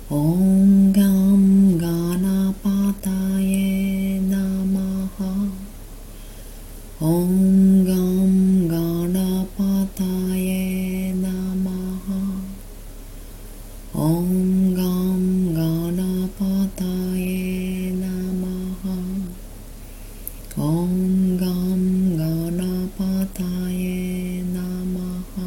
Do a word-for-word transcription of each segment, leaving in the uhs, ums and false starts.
Om Gam Ganapataye Namaha. Om Gam Ganapataye Namaha. Om Gam Ganapataye Namaha. Om Gam Ganapataye Namaha.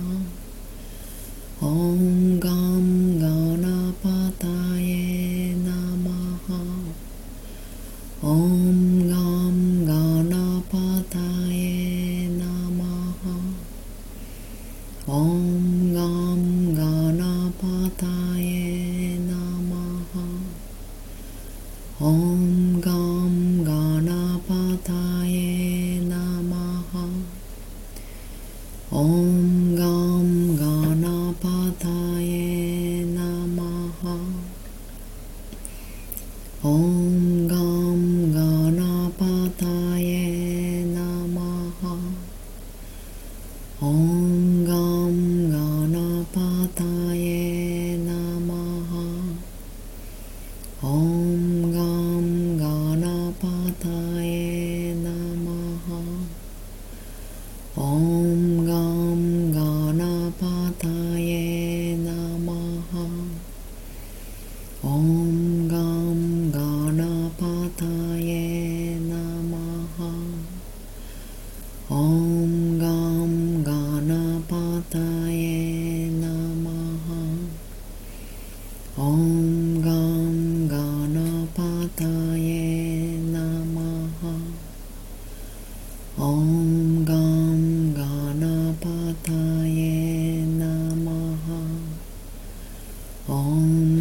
Om Gam Ganapataye Namaha. Om Gam Ganapataye Namaha. Om Gam Ganapataye Namaha. Om Gam Ganapataye Namaha. Om Gam Ganapataye Namaha. Om Gam Ganapataye Namaha. Om Gam Ganapataye Namaha. Om Gam Ganapataye Namaha. Om Gam Ganapataye Namaha. Om Gam Ganapataye Namaha. Om Gam Ganapataye Namaha. Om Gam Ganapataye Namaha. Om Gam Ganapataye Namaha. Om